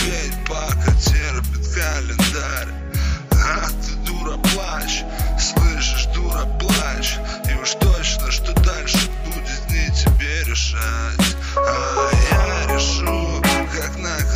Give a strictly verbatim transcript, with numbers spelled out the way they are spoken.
терпеть, пока терпит календарь. А ты, дура, плачь, слышишь, дура, плачь. И уж точно, что дальше будет не тебе решать, а я решу, как на